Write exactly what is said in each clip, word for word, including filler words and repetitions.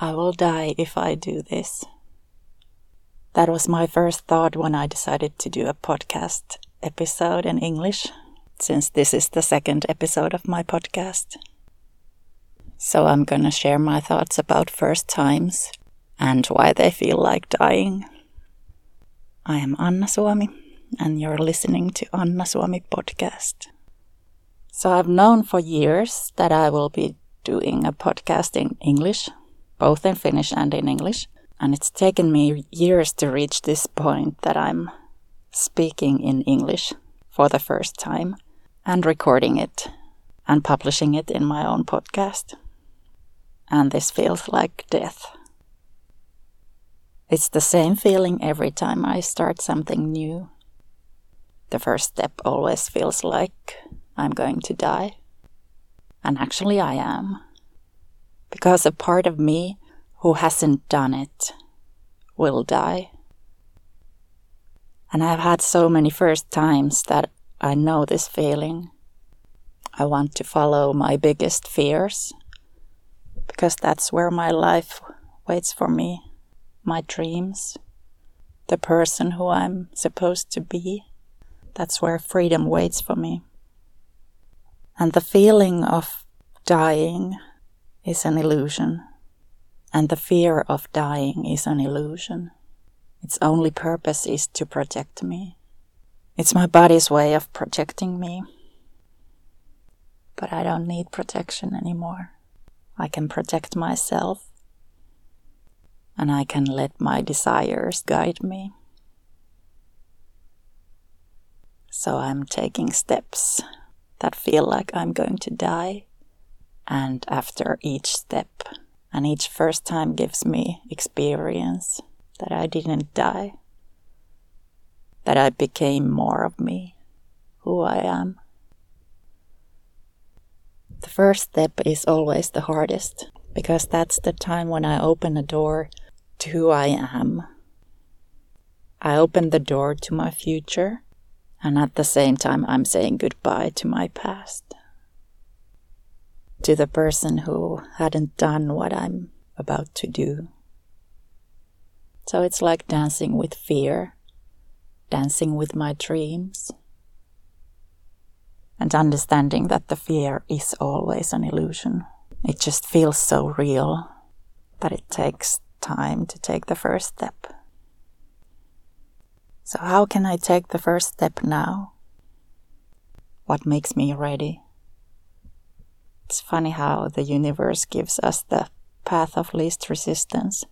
I will die if I do this. That was my first thought when I decided to do a podcast episode in English, since this is the second episode of my podcast. So I'm gonna share my thoughts about first times and why they feel like dying. I am Anna Suomi, and you're listening to Anna Suomi podcast. So I've known for years that I will be doing a podcast in English, both in Finnish and in English. And it's taken me years to reach this point that I'm speaking in English for the first time and recording it and publishing it in my own podcast. And this feels like death. It's the same feeling every time I start something new. The first step always feels like I'm going to die. And actually I am. Because a part of me who hasn't done it will die. And I've had so many first times that I know this feeling. I want to follow my biggest fears, because that's where my life waits for me, my dreams, the person who I'm supposed to be. That's where freedom waits for me. And the feeling of dying is an illusion. And the fear of dying is an illusion. Its only purpose is to protect me. It's my body's way of protecting me. But I don't need protection anymore. I can protect myself. And I can let my desires guide me. So I'm taking steps that feel like I'm going to die. And after each step, and each first time gives me experience that I didn't die, that I became more of me, who I am. The first step is always the hardest, because that's the time when I open a door to who I am. I open the door to my future, and at the same time I'm saying goodbye to my past. To the person who hadn't done what I'm about to do. So it's like dancing with fear, dancing with my dreams, and understanding that the fear is always an illusion. It just feels so real that it takes time to take the first step. So how can I take the first step now? What makes me ready? It's funny how the universe gives us the path of least resistance.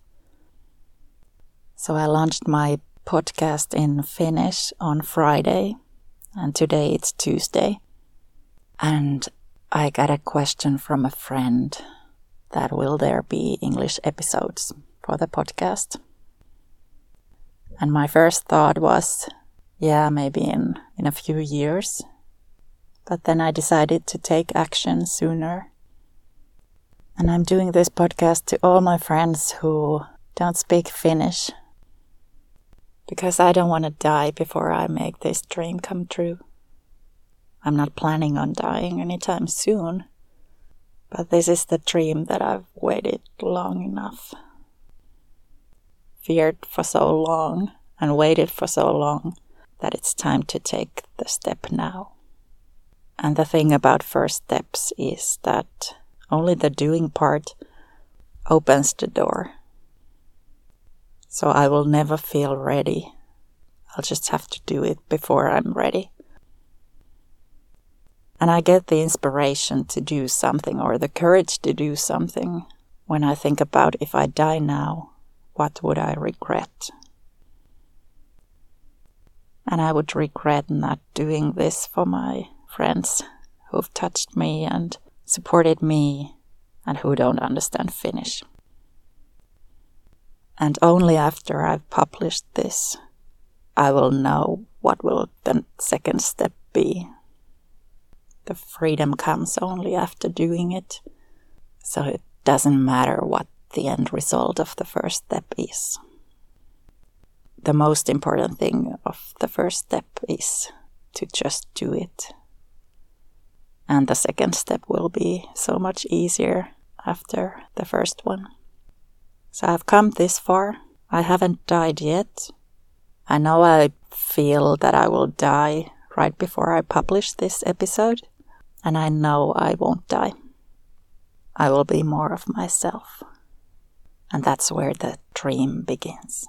So I launched my podcast in Finnish on Friday, and today it's Tuesday. And I got a question from a friend that will there be English episodes for the podcast. And my first thought was, yeah, maybe in, in a few years. But then I decided to take action sooner. And I'm doing this podcast to all my friends who don't speak Finnish. Because I don't want to die before I make this dream come true. I'm not planning on dying anytime soon. But this is the dream that I've waited long enough. Feared for so long and waited for so long that it's time to take the step now. And the thing about first steps is that only the doing part opens the door. So I will never feel ready. I'll just have to do it before I'm ready. And I get the inspiration to do something or the courage to do something when I think about if I die now, what would I regret? And I would regret not doing this for my friends who've touched me and supported me and who don't understand Finnish. And only after I've published this, I will know what will the second step be. The freedom comes only after doing it, so it doesn't matter what the end result of the first step is. The most important thing of the first step is to just do it. And the second step will be so much easier after the first one. So I've come this far. I haven't died yet. I know I feel that I will die right before I publish this episode. And I know I won't die. I will be more of myself. And that's where the dream begins.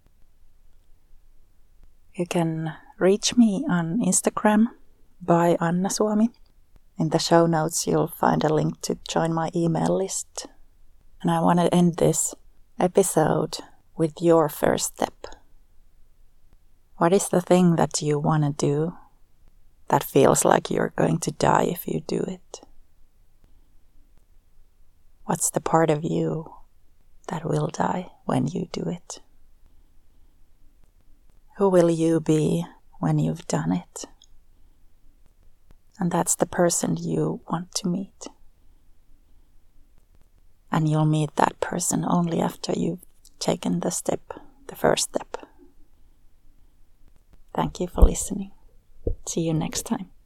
You can reach me on Instagram by Anna Suomi. In the show notes you'll find a link to join my email list. And I want to end this episode with your first step. What is the thing that you want to do that feels like you're going to die if you do it? What's the part of you that will die when you do it? Who will you be when you've done it? And that's the person you want to meet. And you'll meet that person only after you've taken the step, the first step. Thank you for listening. See you next time.